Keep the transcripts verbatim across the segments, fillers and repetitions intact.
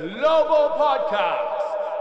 Global Podcast.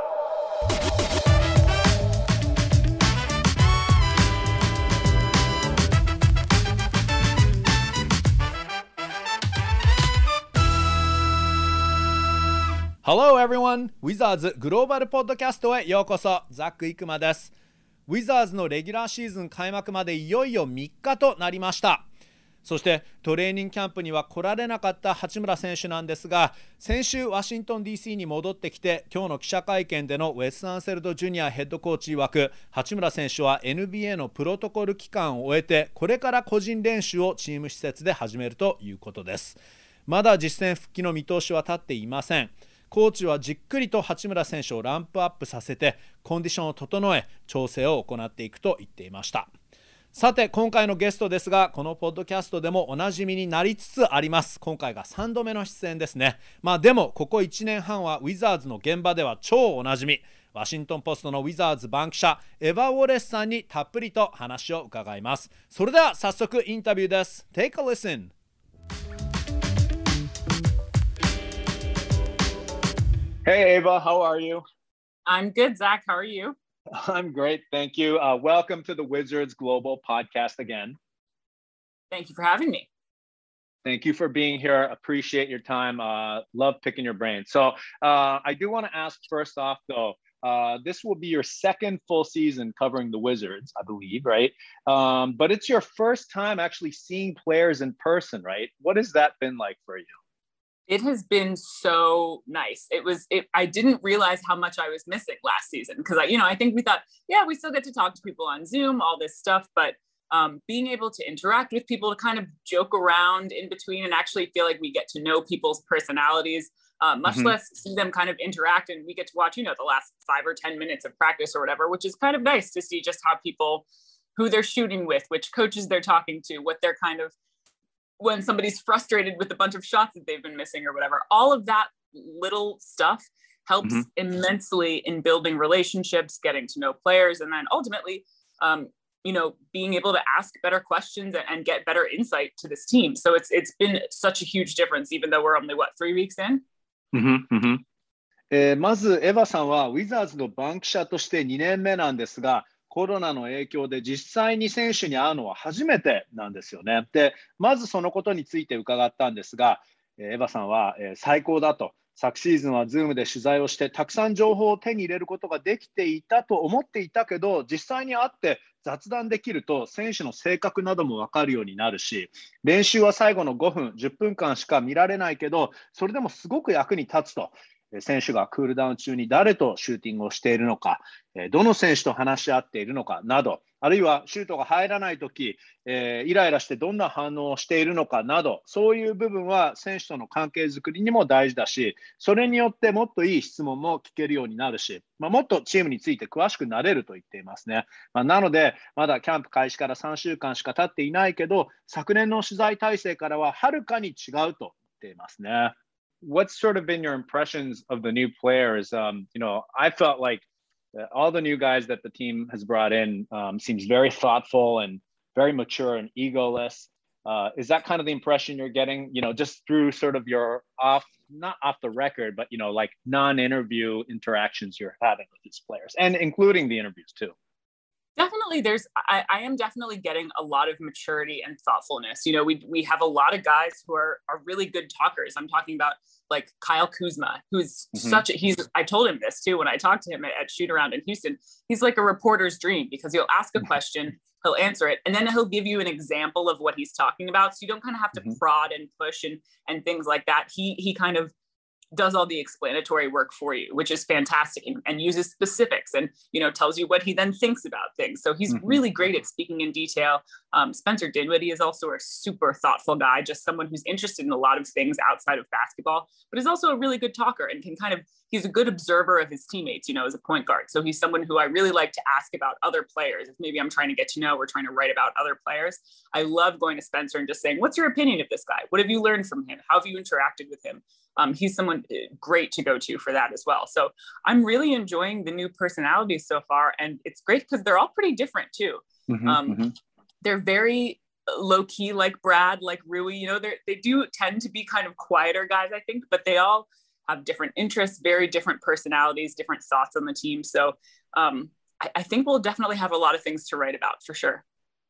Hello everyone! ウィザーズグローバルポッドキャストへようこそ。ザック・イクマです。ウィザーズのレギュラーシーズン開幕までいよいよみっかとなりました。そしてトレーニングキャンプには来られなかった八村選手なんですが、先週ワシントン ディーシー に戻ってきて、今日の記者会見でのウェス・アンセルド・ジュニアヘッドコーチ曰く、八村選手は エヌビーエー のプロトコル期間を終えて、これから個人練習をチーム施設で始めるということです。まだ実戦復帰の見通しは立っていません。コーチはじっくりと八村選手をランプアップさせて、コンディションを整え調整を行っていくと言っていました。さて今回のゲストですが、このポッドキャストでもおなじみになりつつあります。今回がさんどめの出演ですね。まあでもここいちねんはんはウィザーズの現場では超おなじみ、ワシントンポストのウィザーズ番記者エヴァ・ウォレスさんにたっぷりと話を伺います。それでは早速インタビューです。 Take a listen. Hey Ava, how are you? I'm good, Zach. How are you? I'm great, thank you. Uh, welcome to the Wizards Global Podcast again. Thank you for having me. Thank you for being here. Appreciate your time. Uh, love picking your brain. So uh, I do want to ask first off, though, uh, this will be your second full season covering the Wizards, I believe, right? Um, but it's your first time actually seeing players in person, right? What has that been like for you? It has been so nice. It was, it, I didn't realize how much I was missing last season because I, you know, I think we thought, yeah, we still get to talk to people on Zoom, all this stuff, but um, being able to interact with people, to kind of joke around in between and actually feel like we get to know people's personalities, uh, much mm-hmm. less see them kind of interact, and we get to watch, you know, the last five or ten minutes of practice or whatever, which is kind of nice to see just how people, who they're shooting with, which coaches they're talking to, what they're kind of, when somebody's frustrated with a bunch of shots that they've been missing or whatever, all of that little stuff helps mm-hmm. immensely in building relationships, getting to know players, and then ultimately, um, you know, being able to ask better questions and, and get better insight to this team. So it's it's been such a huge difference, even though we're only, what, three weeks in? Mm-hmm. Mm-hmm. えー、まずエヴァさんはウィザーズの番記者としてにねんめなんですが、コロナの影響で実際に選手に会うのは初めてなんですよね。で、まずそのことについて伺ったんですが、エヴァさんは最高だと、昨シーズンは Zoom で取材をしてたくさん情報を手に入れることができていたと思っていたけど、実際に会って雑談できると選手の性格なども分かるようになるし、練習は最後のごふん、じゅっぷんかんしか見られないけど、それでもすごく役に立つと。選手がクールダウン中に誰とシューティングをしているのか、どの選手と話し合っているのかなど、あるいはシュートが入らないとき、えー、イライラしてどんな反応をしているのかなど、そういう部分は選手との関係づくりにも大事だし、それによってもっといい質問も聞けるようになるし、まあ、もっとチームについて詳しくなれると言っていますね。まあ、なので、まだキャンプ開始からさんしゅうかんしか経っていないけど、昨年の取材体制からははるかに違うと言っていますね。What's sort of been your impressions of the new players? Um, you know, I felt like all the new guys that the team has brought in um, seems very thoughtful and very mature and egoless. Uh, is that kind of the impression you're getting, you know, just through sort of your off, not off the record, but, you know, like non-interview interactions you're having with these players and including the interviews too? Definitely, there's, I, I am definitely getting a lot of maturity and thoughtfulness. You know, we we have a lot of guys who are are really good talkers. I'm talking about like Kyle Kuzma, who's mm-hmm. such a, he's, I told him this too, when I talked to him at, at shoot around in Houston, he's like a reporter's dream because he'll ask a question, he'll answer it, and then he'll give you an example of what he's talking about. So you don't kind of have to mm-hmm. prod and push and, and things like that. He, he kind of does all the explanatory work for you, which is fantastic, and, and uses specifics and, you know, tells you what he then thinks about things. So he's mm-hmm. really great at speaking in detail. Um, Spencer Dinwiddie is also a super thoughtful guy, just someone who's interested in a lot of things outside of basketball, but is also a really good talker and can kind of, he's a good observer of his teammates, you know, as a point guard. So he's someone who I really like to ask about other players. If maybe I'm trying to get to know or trying to write about other players, I love going to Spencer and just saying, what's your opinion of this guy? What have you learned from him? How have you interacted with him? Um, he's someone great to go to for that as well. So I'm really enjoying the new personalities so far. And it's great because they're all pretty different too. Mm-hmm, um, mm-hmm. They're very low key, like Brad, like Rui, you know, they they do tend to be kind of quieter guys, I think, but they all have different interests, very different personalities, different thoughts on the team. So um, I, I think we'll definitely have a lot of things to write about for sure.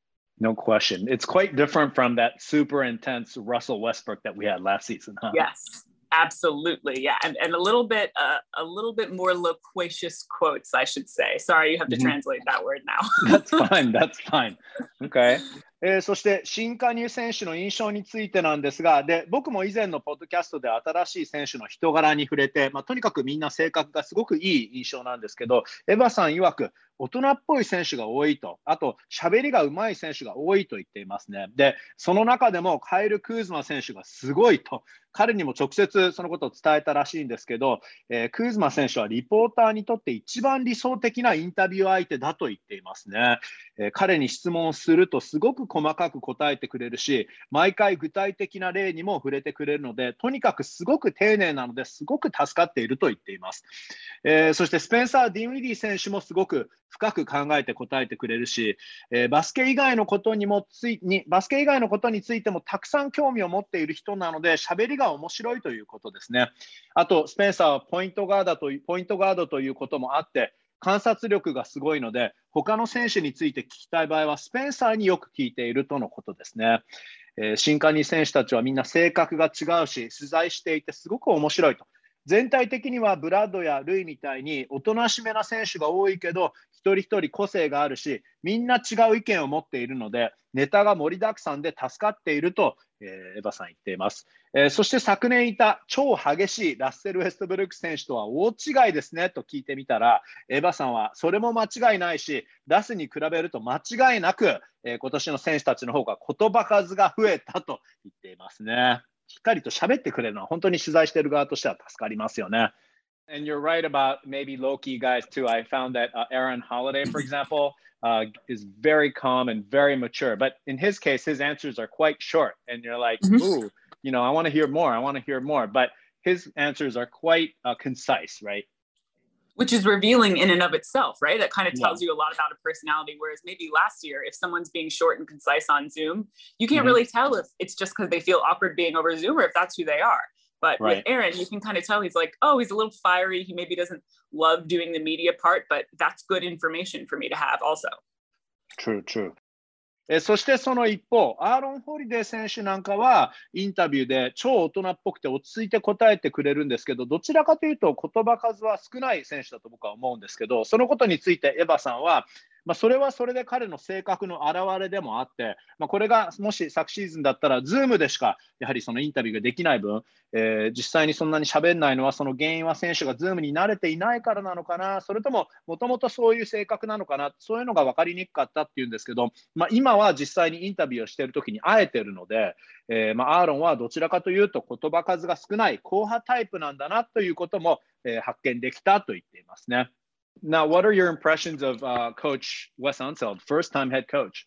No question. It's quite different from that super intense Russell Westbrook that we had last season, huh? Yes, absolutely. Yeah. And, and a little bit, uh, a little bit more loquacious quotes, I should say. Sorry, you have to Mhm. translate that word now. That's fine, that's fine. Okay. えーそして新加入選手の印象についてなんですが、で僕も以前のポッドキャストで新しい選手の人柄に触れて、まあ、とにかくみんな性格がすごくいい印象なんですけど、エヴァさん曰く大人っぽい選手が多いと、あと喋りがうまい選手が多いと言っていますね。で、その中でもカイル・クーズマ選手がすごいと、彼にも直接そのことを伝えたらしいんですけど、えークーズマ選手はリポーターにとって一番理想的なインタビュー相手だと言っていますね。えー彼に質問するとすごく細かく答えてくれるし、毎回具体的な例にも触れてくれるので、とにかくすごく丁寧なのですごく助かっていると言っています。えーそしてスペンサー・ディンウィディ選手もすごく深く考えて答えてくれるし、えーバスケ以外のことにもついにバスケ以外のことについてもたくさん興味を持っている人なので、喋りが面白いということですね。あとスペンサーはポイントガードというポイントガードということもあって、観察力がすごいので、他の選手について聞きたい場合はスペンサーによく聞いているとのことですね。えー新加入選手たちはみんな性格が違うし、取材していてすごく面白いと。全体的にはブラッドやルイみたいにおとなしめな選手が多いけど、一人一人個性があるし、みんな違う意見を持っているので、ネタが盛りだくさんで助かっていると、えーエヴァさん言っています。えーそして昨年いた超激しいラッセル・ウェストブルック選手とは大違いですねと聞いてみたら、エヴァさんはそれも間違いないし、ラスに比べると間違いなく、えー今年の選手たちの方が言葉数が増えたと言っていますね。しっかりと喋ってくれるのは本当に取材している側としては助かりますよね。And you're right about maybe low-key guys too. I found that uh, Aaron Holiday, for example, uh, is very calm and very mature. But in his case, his answers are quite short. And you're like, Mhm. ooh, you know, I want to hear more. I want to hear more. But his answers are quite uh, concise, right? Which is revealing in and of itself, right? That kind of Yeah. tells you a lot about a personality. Whereas maybe last year, if someone's being short and concise on Zoom, you can't Mhm. really tell if it's just because they feel awkward being over Zoom or if that's who they are. But Right. with Aaron, you can kind of tell he's like, oh, he's a little fiery. He maybe doesn't love doing the media part, but that's good information for me to have also. True, true. えーそしてその一方、アーロン・ホリデー選手なんかはインタビューで超大人っぽくて落ち着いて答えてくれるんですけど、どちらかというと言葉数は少ない選手だと僕は思うんですけど、そのことについてエヴァさんは、まあ、それはそれで彼の性格の表れでもあって、まあ、これがもし昨シーズンだったら、ズームでしかやはりそのインタビューができない分、えー実際にそんなに喋んないのは、その原因は選手がズームに慣れていないからなのかな、それとももともとそういう性格なのかな、そういうのが分かりにくかったっていうんですけど、まあ、今は実際にインタビューをしているときに会えているので、えーまあ、アーロンはどちらかというと言葉数が少ない硬派タイプなんだなということも、えー発見できたと言っていますね。Now, what are your impressions of uh, Coach Wes Unseld, first-time head coach?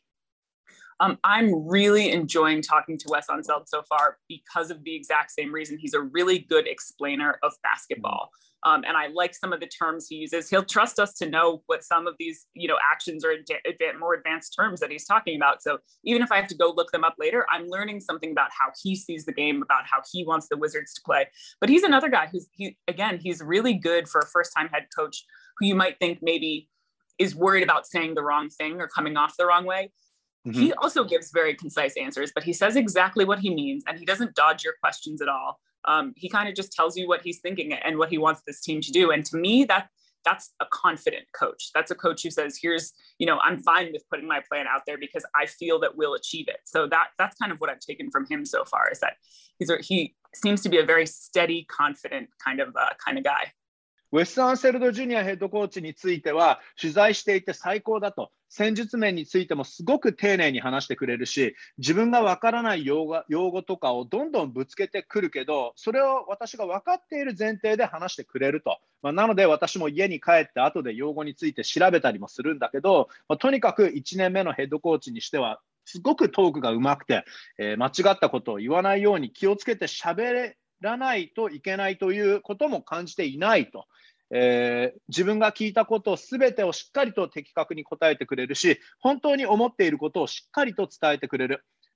Um, I'm really enjoying talking to Wes Unseld so far because of the exact same reason. He's a really good explainer of basketball. Um, and I like some of the terms he uses. He'll trust us to know what some of these, you know, actions or ad- ad- more advanced terms that he's talking about. So even if I have to go look them up later, I'm learning something about how he sees the game, about how he wants the Wizards to play. But he's another guy who's, he again, he's really good for a first-time head coach who you might think maybe is worried about saying the wrong thing or coming off the wrong way. Mhm. He also gives very concise answers, but he says exactly what he means and he doesn't dodge your questions at all. Um, he kind of just tells you what he's thinking and what he wants this team to do. And to me, that that's a confident coach. That's a coach who says, here's, you know, I'm fine with putting my plan out there because I feel that we'll achieve it. So that that's kind of what I've taken from him so far, is that he's a, he seems to be a very steady, confident kind of uh, kind of guy. ウェス・アンセルド・ジュニアヘッドコーチについては取材していて最高だと、戦術面についてもすごく丁寧に話してくれるし、自分がわからない用語、用語とかをどんどんぶつけてくるけど、それを私が分かっている前提で話してくれると、まあ、なので私も家に帰って後で用語について調べたりもするんだけど、まあ、とにかくいちねんめのヘッドコーチにしてはすごくトークがうまくて、えー間違ったことを言わないように気をつけて喋らないといけないということも感じていないと。えー自分が聞いたことをすべてをしっかりと的確に答えてくれるし、本当に思っていることをしっかりと伝えてくれる。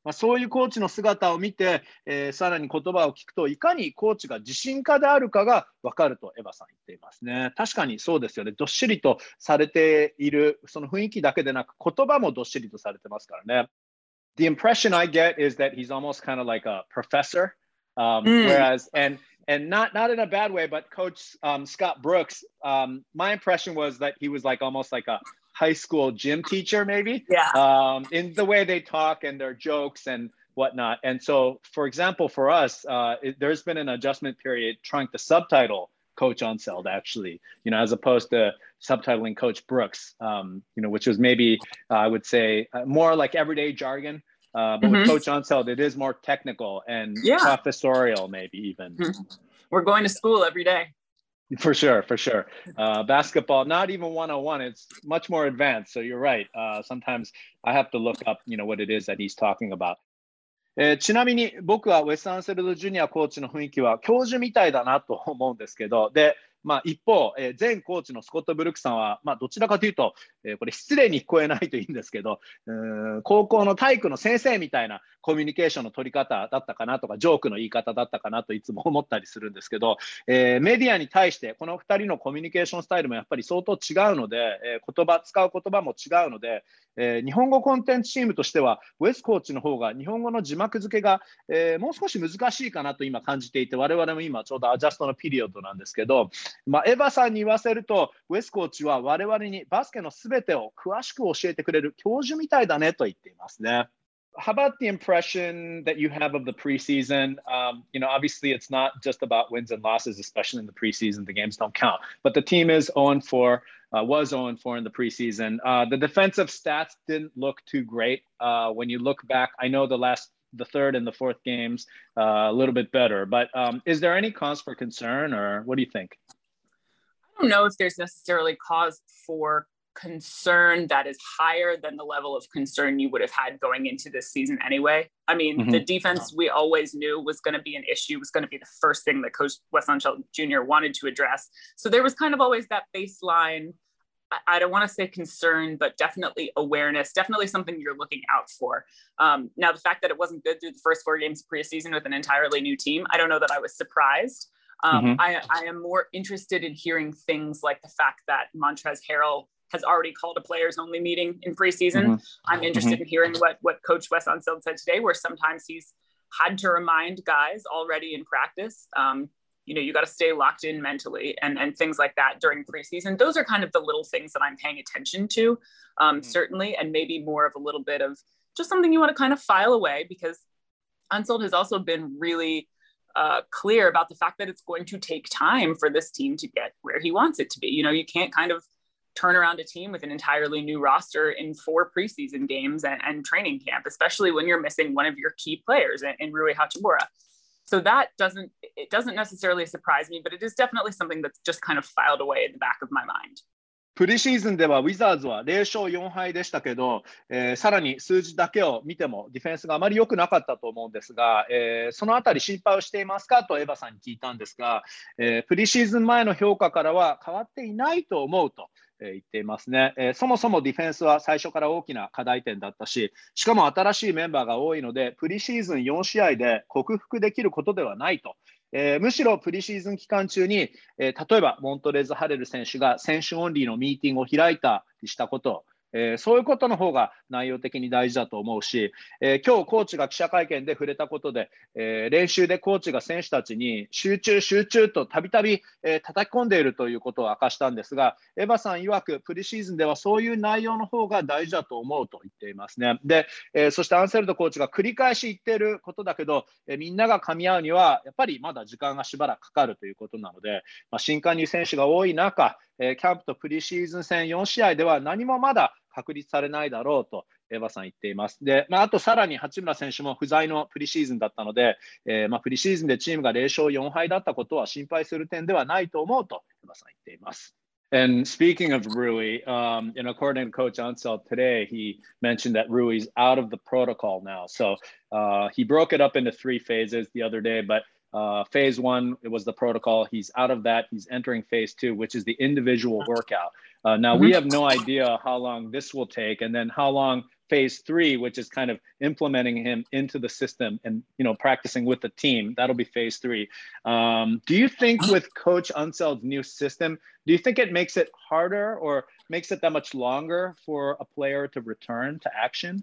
まあ、そういうコーチの姿を見て、えー、さらに言葉を聞くと、いかにコーチが自信家であるかが分かるとエヴァさん言っていますね。確かにそうですよね。どっしりとされている、その雰囲気だけでなく、言葉もどっしりとされてますからね。The impression I get is that he's almost kind of like a professor, um, mm. whereas, and and not not in a bad way, but Coach um, Scott Brooks, um, my impression was that he was like almost like a high school gym teacher, maybe, yeah. um, in the way they talk and their jokes and whatnot. And so, for example, for us, uh, it, there's been an adjustment period trying to subtitle Coach Unseld, actually, you know, as opposed to subtitling Coach Brooks, um, you know, which was maybe, uh, I would say, uh, more like everyday jargon. Uh, but mm-hmm. with Coach Unseld, it is more technical and yeah. professorial, maybe even. Mm-hmm. We're going to school every day. For sure, for sure. Uh, basketball, not even one oh one. It's much more advanced. So you're right. Uh, sometimes I have to look up, you know, what it is that he's talking about. えー、ちなみに僕はウェス・アンセルド・ジュニアコーチの雰囲気は教授みたいだなと思うんですけど、で、まあ、一方、えー、前コーチのスコット・ブルックさんは、まあ、どちらかというと、えー、これ失礼に聞こえないといいんですけど、うーん、高校の体育の先生みたいなコミュニケーションの取り方だったかなとか、ジョークの言い方だったかなといつも思ったりするんですけど、えー、メディアに対してこのふたりのコミュニケーションスタイルもやっぱり相当違うので、えー、言葉使う言葉も違うので、えー、日本語コンテンツチームとしてはウェスコーチの方が日本語の字幕付けが、えー、もう少し難しいかなと今感じていて、我々も今ちょうどアジャストのピリオドなんですけど、まあ、エヴァさんに言わせるとウェスコーチは我々にバスケのすべてを詳しく教えてくれる教授みたいだねと言っていますね。How about the impression that you have of the preseason? Um, you know, obviously it's not just about wins and losses, especially in the preseason. The games don't count. But the team is oh and four, uh, was oh and four in the preseason. Uh, the defensive stats didn't look too great. Uh, when you look back, I know the last, the third and the fourth games, uh, a little bit better. But um, is there any cause for concern, or what do you think? I don't know if there's necessarily cause for concern that is higher than the level of concern you would have had going into this season anyway. I mean, mm-hmm. the defense we always knew was going to be an issue, was going to be the first thing that Coach Wes Unseld Junior wanted to address. So there was kind of always that baseline, I, I don't want to say concern, but definitely awareness, definitely something you're looking out for. Um, now, the fact that it wasn't good through the first four games of preseason with an entirely new team, I don't know that I was surprised. Um, mm-hmm. I, I am more interested in hearing things like the fact that Montrezl Harrell has already called a players only meeting in preseason. Mm-hmm. I'm interested mm-hmm. in hearing what, what Coach Wes Unseld said today, where sometimes he's had to remind guys already in practice, um, you know, you got to stay locked in mentally and, and things like that during preseason. Those are kind of the little things that I'm paying attention to, um, mm-hmm. certainly, and maybe more of a little bit of just something you want to kind of file away, because Unseld has also been really uh, clear about the fact that it's going to take time for this team to get where he wants it to be. You know, you can't kind of turn around a team with an entirely new roster in four preseason games and, and training camp, especially when you're missing one of your key players in, in Rui Hachimura. So that doesn't, it doesn't necessarily surprise me, but it is definitely something that's just kind of filed away in the back of my mind. プリシーズンではウィザーズはゼロ勝よん敗でしたけど、えー、さらに数字だけを見てもディフェンスがあまり良くなかったと思うんですが、えー、そのあたり心配をしていますかとエヴァさんに聞いたんですが、えー、プリシーズン前の評価からは変わっていないと思うと言っていますね。えー、そもそもディフェンスは最初から大きな課題点だったし、しかも新しいメンバーが多いので、プリシーズンよん試合で克服できることではないと。えー、むしろプリシーズン期間中に、えー、例えばモントレーズ・ハレル選手が選手オンリーのミーティングを開いたりしたこと、えー、そういうことの方が内容的に大事だと思うし、えー、今日コーチが記者会見で触れたことで、えー、練習でコーチが選手たちに集中集中とたびたび叩き込んでいるということを明かしたんですが、エヴァさん曰くプリシーズンではそういう内容の方が大事だと思うと言っていますね。で、えー、そしてアンセルドコーチが繰り返し言っていることだけど、えー、みんなが噛み合うにはやっぱりまだ時間がしばらくかかるということなので、まあ、新加入選手が多い中、えー、キャンプとプリシーズン戦よん試合では何もまだ確立されないだろうとエヴァさん言っています。で、まあ、あとさらに八村選手も不在のプリシーズンだったので、えーまあ、プリシーズンでチームがゼロ勝よん敗だったことは心配する点ではないと思うとエヴァさん言っています。And speaking of Rui, um, and according to Coach Unseld today, he mentioned that Rui's out of the protocol now. So uh, he broke it up into three phases the other day, but Uh, phase one, it was the protocol. He's out of that. He's entering phase two, which is the individual workout. Uh, now, mm-hmm. we have no idea how long this will take and then how long phase three, which is kind of implementing him into the system and, you know, practicing with the team. That'll be phase three. Um, do you think with Coach Unseld's new system, do you think it makes it harder or makes it that much longer for a player to return to action?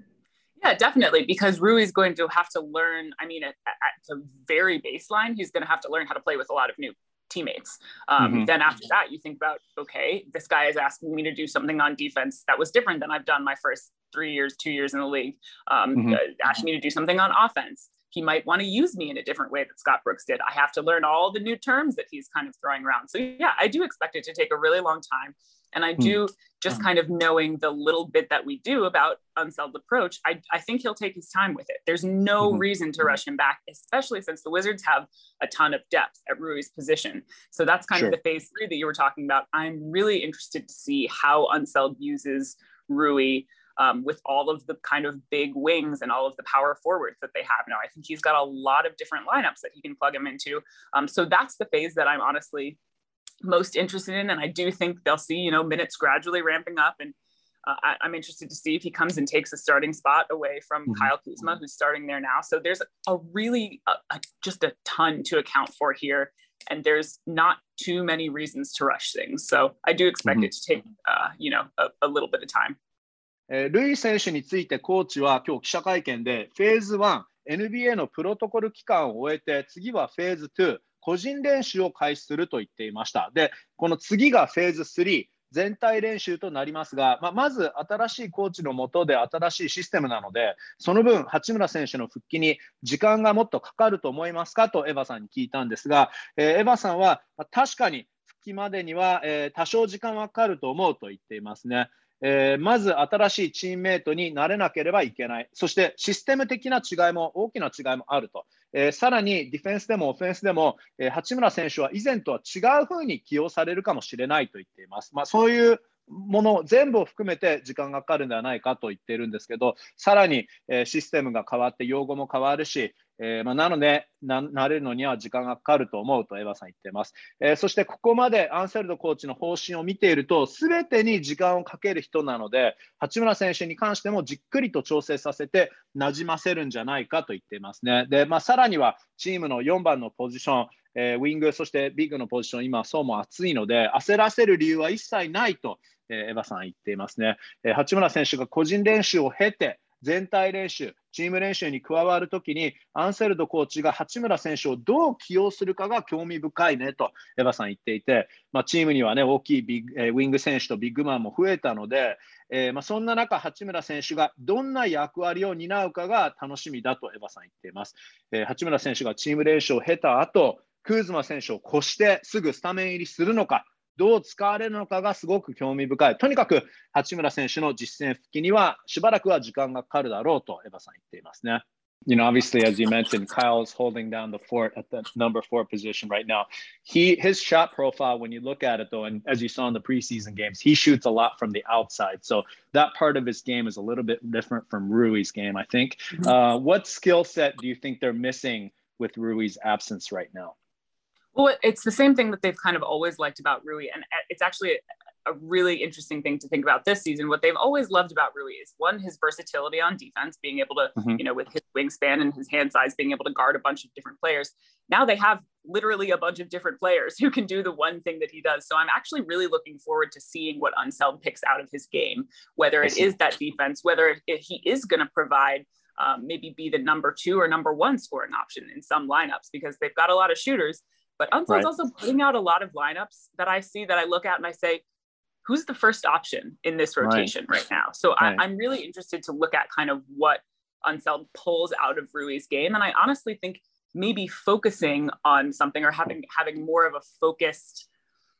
Yeah, definitely, because Rui's going to have to learn, I mean, at, at the very baseline, he's going to have to learn how to play with a lot of new teammates. Um, mm-hmm. Then after that, you think about, okay, this guy is asking me to do something on defense that was different than I've done my first three years, two years in the league. Um, mm-hmm. uh, asking me to do something on offense. He might want to use me in a different way that Scott Brooks did. I have to learn all the new terms that he's kind of throwing around. So yeah, I do expect it to take a really long time. And I do mm. just kind of knowing the little bit that we do about Unseld's approach, I, I think he'll take his time with it. There's no mm-hmm. reason to rush him back, especially since the Wizards have a ton of depth at Rui's position. So that's kind sure. of the phase three that you were talking about. I'm really interested to see how Unseld uses Rui um, with all of the kind of big wings and all of the power forwards that they have now. I think he's got a lot of different lineups that he can plug him into. Um, so that's the phase that I'm honestly most interested in. And I do think they'll see, you know, minutes gradually ramping up. And uh, I, I'm interested to see if he comes and takes a starting spot away from mm-hmm. Kyle Kuzma, who's starting there now. So there's a really, a, a, just a ton to account for here. And there's not too many reasons to rush things. So I do expect mm-hmm. it to take, uh, you know, a, a little bit of time. えー、ルイ選手についてコーチは今日記者会見でフェーズワン エヌビーエー のプロトコル期間を終えて次はフェーズツー個人練習を開始すると言っていました。で、この次がフェーズスリー全体練習となりますが、まあ、まず新しいコーチの下で新しいシステムなので、その分八村選手の復帰に時間がもっとかかると思いますかとエヴァさんに聞いたんですが、えー、エヴァさんは、まあ、確かに復帰までには、えー、多少時間はかかると思うと言っていますね。えー、まず新しいチームメイトになれなければいけない。そしてシステム的な違いも大きな違いもあると。えー、さらにディフェンスでもオフェンスでも、えー、八村選手は以前とは違うふうに起用されるかもしれないと言っています。まあ、そういうもの全部を含めて時間がかかるんではないかと言っているんですけど、さらに、えー、システムが変わって用語も変わるし、えーまあ、なのでな、慣れるのには時間がかかると思うとエヴァさん言っています。えー、そしてここまでアンセルドコーチの方針を見ていると、すべてに時間をかける人なので、八村選手に関してもじっくりと調整させて馴染ませるんじゃないかと言っていますね。で、まあ、さらにはチームのよんばんのポジション、えー、ウィング、そしてビッグのポジション、今そうも熱いので、焦らせる理由は一切ないと、えー、エヴァさん言っていますね。えー、八村選手が個人練習を経て、全体練習、チーム練習に加わるときに、アンセルドコーチが八村選手をどう起用するかが興味深いねとエヴァさん言っていて、まあ、チームには、ね、大きいビッグ、えー、ウィング選手とビッグマンも増えたので、えーまあ、そんな中、八村選手がどんな役割を担うかが楽しみだとエヴァさん言っています。えー、八村選手がチーム練習を経た後、クーズマ選手を越してすぐスタメン入りするのか、どう使われるのかがすごく興味深い。とにかく八村選手の実戦復帰にはしばらくは時間がかかるだろうとエヴァさん言っていますね。You know, obviously, as you mentioned, Kyle's holding down the fort at the number four position right now. He, his shot profile, when you look at it, though, and as you saw in the preseason games, he shoots a lot from the outside. So that part of his game is a little bit different from Rui's game, I think. Uh, what skill set do you think they're missing with Rui's absence right now? Well, it's the same thing that they've kind of always liked about Rui. And it's actually a really interesting thing to think about this season. What they've always loved about Rui is, one, his versatility on defense, being able to, mm-hmm. you know, with his wingspan and his hand size, being able to guard a bunch of different players. Now they have literally a bunch of different players who can do the one thing that he does. So I'm actually really looking forward to seeing what Unseld picks out of his game, whether it is that defense, whether it, he is going to provide um, maybe be the number two or number one scoring option in some lineups, because they've got a lot of shooters. But Unseld's right. also putting out a lot of lineups that I see that I look at and I say, who's the first option in this rotation right, right now? So right. I, I'm really interested to look at kind of what Unseld pulls out of Rui's game. And I honestly think maybe focusing on something or having having more of a focused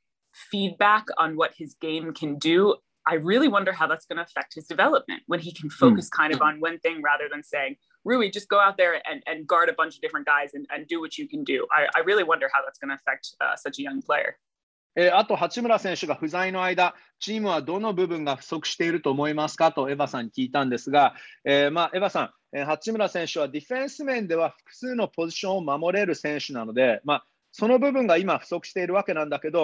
feedback on what his game can do. I really wonder how that's going to affect his development when he can focus mm. kind of on one thing rather than saying, Rui, just go out there and, and guard a bunch of different guys and, and do what you can do. I, I really wonder how that's going to affect uh, such a young player. えー、あと八村選手が不在の間、チームはどの部分が不足していると思いますかとエヴァさんに聞いたんですが、えーまあ、エヴァさん、えー、八村選手はディフェンス面では複数のポジションを守れる選手なので、まあ、その部分が今不足しているわけなんだけど、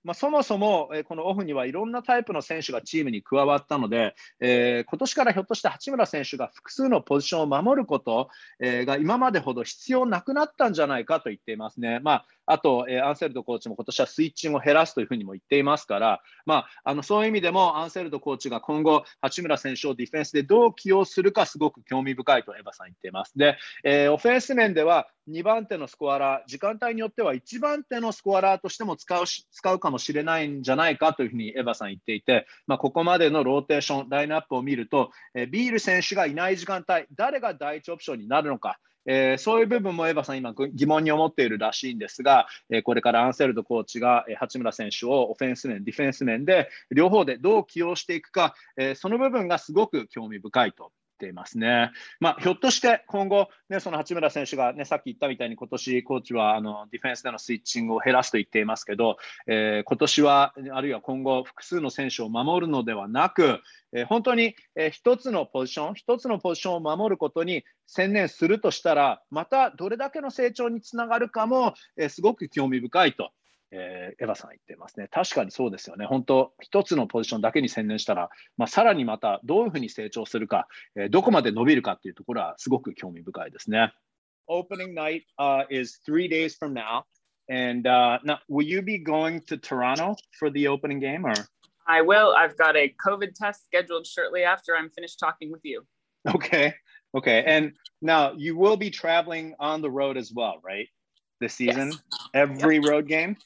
まあ、そもそも、えー、このオフにはいろんなタイプの選手がチームに加わったので、えー、今年からひょっとして八村選手が複数のポジションを守ること、えー、が今までほど必要なくなったんじゃないかと言っていますね。まあ、あと、えー、アンセルドコーチも今年はスイッチングを減らすというふうにも言っていますから、まあ、あのそういう意味でもアンセルドコーチが今後、八村選手をディフェンスでどう起用するかすごく興味深いとエヴァさん言っています。で、えー、オフェンス面ではにばん手のスコアラー、時間帯によってはいちばん手のスコアラーとしても使うし、使うかもしれないんじゃないかというふうにエヴァさん言っていて、まあ、ここまでのローテーション、ラインナップを見ると、えー、ビール選手がいない時間帯、誰が第一オプションになるのか、えー、そういう部分もエヴァさん今疑問に思っているらしいんですが、えー、これからアンセルドコーチが、えー、八村選手をオフェンス面、ディフェンス面で両方でどう起用していくか、えー、その部分がすごく興味深いと。ていますね。まあ、ひょっとして今後、ね、その八村選手が、ね、さっき言ったみたいに今年コーチはあのディフェンスでのスイッチングを減らすと言っていますけど、えー、今年はあるいは今後複数の選手を守るのではなく、えー、本当に、えー、一つのポジション一つのポジションを守ることに専念するとしたら、またどれだけの成長につながるかも、えー、すごく興味深いと。えー、エヴァさん言っていますね。確かにそうですよね。本当、一つのポジションだけに専念したら、まあ、さらにまたどういうふうに成長するか、えー、どこまで伸びるかっていうところはすごく興味深いですね。Opening night、uh, is three days from now. And、uh, now, will you be going to Toronto for the opening game? Or? I will. I've got a COVID test scheduled shortly after I'm finished talking with you. Okay. Okay. And now you will be traveling on the road as well, right? This season? Yes. Every yep. road game?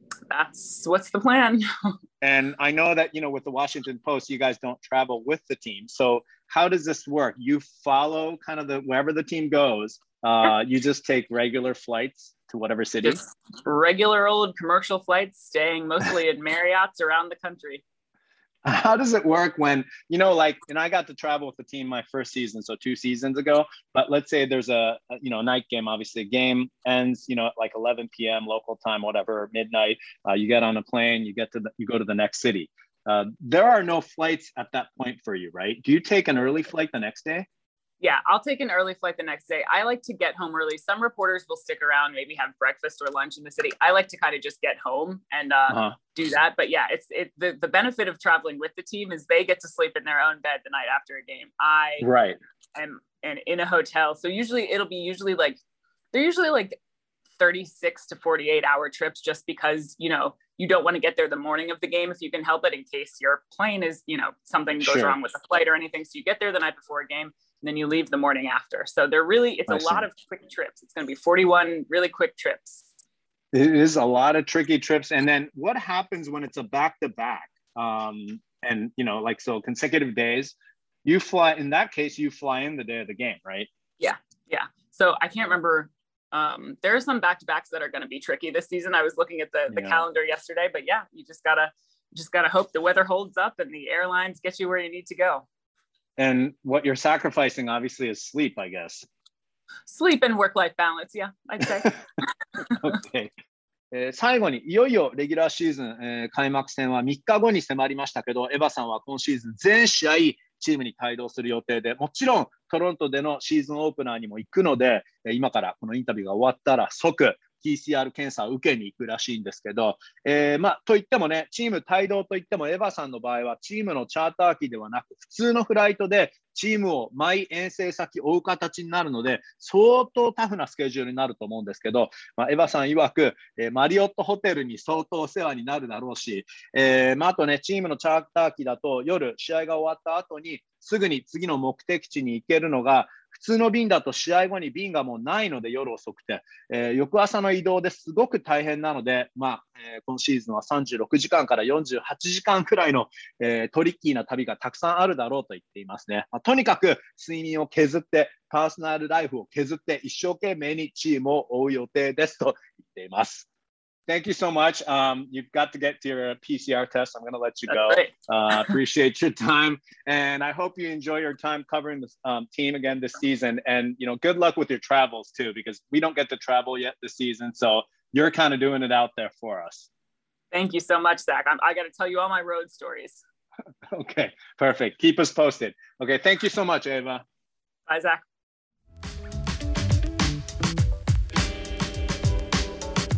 That's what's the plan. And I know that, you know, with the Washington Post, you guys don't travel with the team. So how does this work? You follow kind of the wherever the team goes. Uh, you just take regular flights to whatever city? Just regular old commercial flights, staying mostly at Marriott's around the country. How does it work when, you know, like, and I got to travel with the team my first season, so two seasons ago, but let's say there's a, a you know, night game, obviously game ends, you know, at like eleven p.m. local time, whatever, midnight, uh, you get on a plane, you get to, the, you go to the next city. Uh, there are no flights at that point for you, right? Do you take an early flight the next day? Yeah, I'll take an early flight the next day. I like to get home early. Some reporters will stick around, maybe have breakfast or lunch in the city. I like to kind of just get home and uh, uh-huh. do that. But yeah, it's it the, the benefit of traveling with the team is they get to sleep in their own bed the night after a game. I right. am and in a hotel. So usually it'll be usually like, they're usually like thirty-six to forty-eight hour trips just because, you know, you don't want to get there the morning of the game if you can help it in case your plane is, you know, something goes sure. wrong with the flight or anything. So you get there the night before a game. And then you leave the morning after. So they're really, it's a lot of quick trips. It's going to be forty-one really quick trips. It is a lot of tricky trips. And then what happens when it's a back-to-back? Um, and, you know, like, so consecutive days, you fly, in that case, you fly in the day of the game, right? Yeah. Yeah. So I can't remember. Um, there are some back-to-backs that are going to be tricky this season. I was looking at the, the yeah. calendar yesterday, but yeah, you just gotta, just gotta hope the weather holds up and the airlines get you where you need to go. And what you're sacrificing, obviously, is sleep, I guess. Sleep and work-life balance, yeah, I'd say. Okay. えー、最後にいよいよレギュラーシーズン、えー、開幕戦はみっかごに迫りましたけど、エヴァさんは今シーズン全試合チームに帯同する予定で、もちろんトロントでのシーズンオープナーにも行くので、今からこのインタビューが終わったら即 ピーシーアール 検査を受けに行くらしいんですけど、えー、まあといってもね、チーム帯同といってもエヴァさんの場合はチームのチャーター機ではなく普通のフライトでチームを毎遠征先追う形になるので相当タフなスケジュールになると思うんですけど、まあ、エヴァさん曰く、えー、マリオットホテルに相当お世話になるだろうし、えーまあ、あとねチームのチャーター機だと夜試合が終わった後にすぐに次の目的地に行けるのが普通の便だと試合後に便がもうないので夜遅くて、えー、翌朝の移動ですごく大変なので、まあえー、今シーズンはさんじゅうろくじかんからよんじゅうはちじかんくらいの、えー、トリッキーな旅がたくさんあるだろうと言っていますね。まあ、とにかく睡眠を削ってパーソナルライフを削って一生懸命にチームを追う予定ですと言っています。Thank you so much. Um, you've got to get to your P C R test. I'm going to let you go. Uh, appreciate your time. And I hope you enjoy your time covering this um, team again this season. And, you know, good luck with your travels too, because we don't get to travel yet this season. So you're kind of doing it out there for us. Thank you so much, Zach. I'm, I got to tell you all my road stories. Okay, perfect. Keep us posted. Okay, thank you so much, Ava. Bye, Zach. は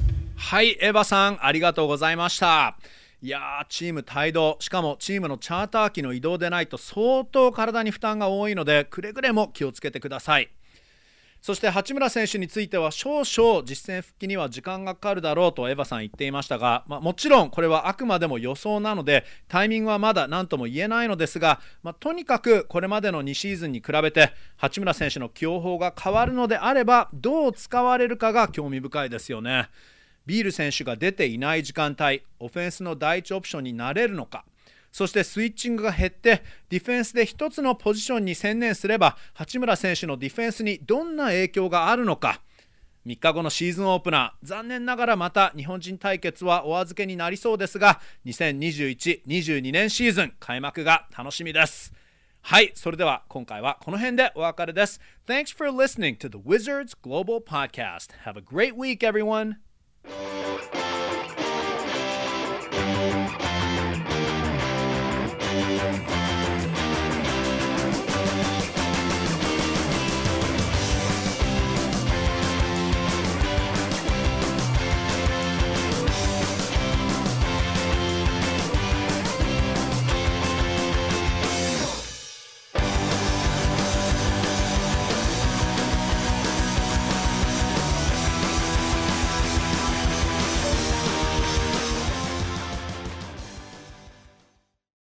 はい、エヴァさんありがとうございました。いやー、チーム帯同、しかもチームのチャーター機の移動でないと相当体に負担が多いので、くれぐれも気をつけてください。そして八村選手については少々実戦復帰には時間がかかるだろうとエヴァさん言っていましたが、まあ、もちろんこれはあくまでも予想なのでタイミングはまだ何とも言えないのですが、まあ、とにかくこれまでのにシーズンに比べて八村選手の起用法が変わるのであればどう使われるかが興味深いですよね。ビール選手が出ていない時間帯、オフェンスの第一オプションになれるのか、そしてスイッチングが減ってディフェンスで一つのポジションに専念すれば八村選手のディフェンスにどんな影響があるのか。みっかごのシーズンオープナー、残念ながらまた日本人対決はお預けになりそうですが、にせんにじゅういち、にじゅうにねんシーズン開幕が楽しみです。はい、それでは今回はこの辺でお別れです。 Thanks for listening to the Wizards Global Podcast. Have a great week, everyone.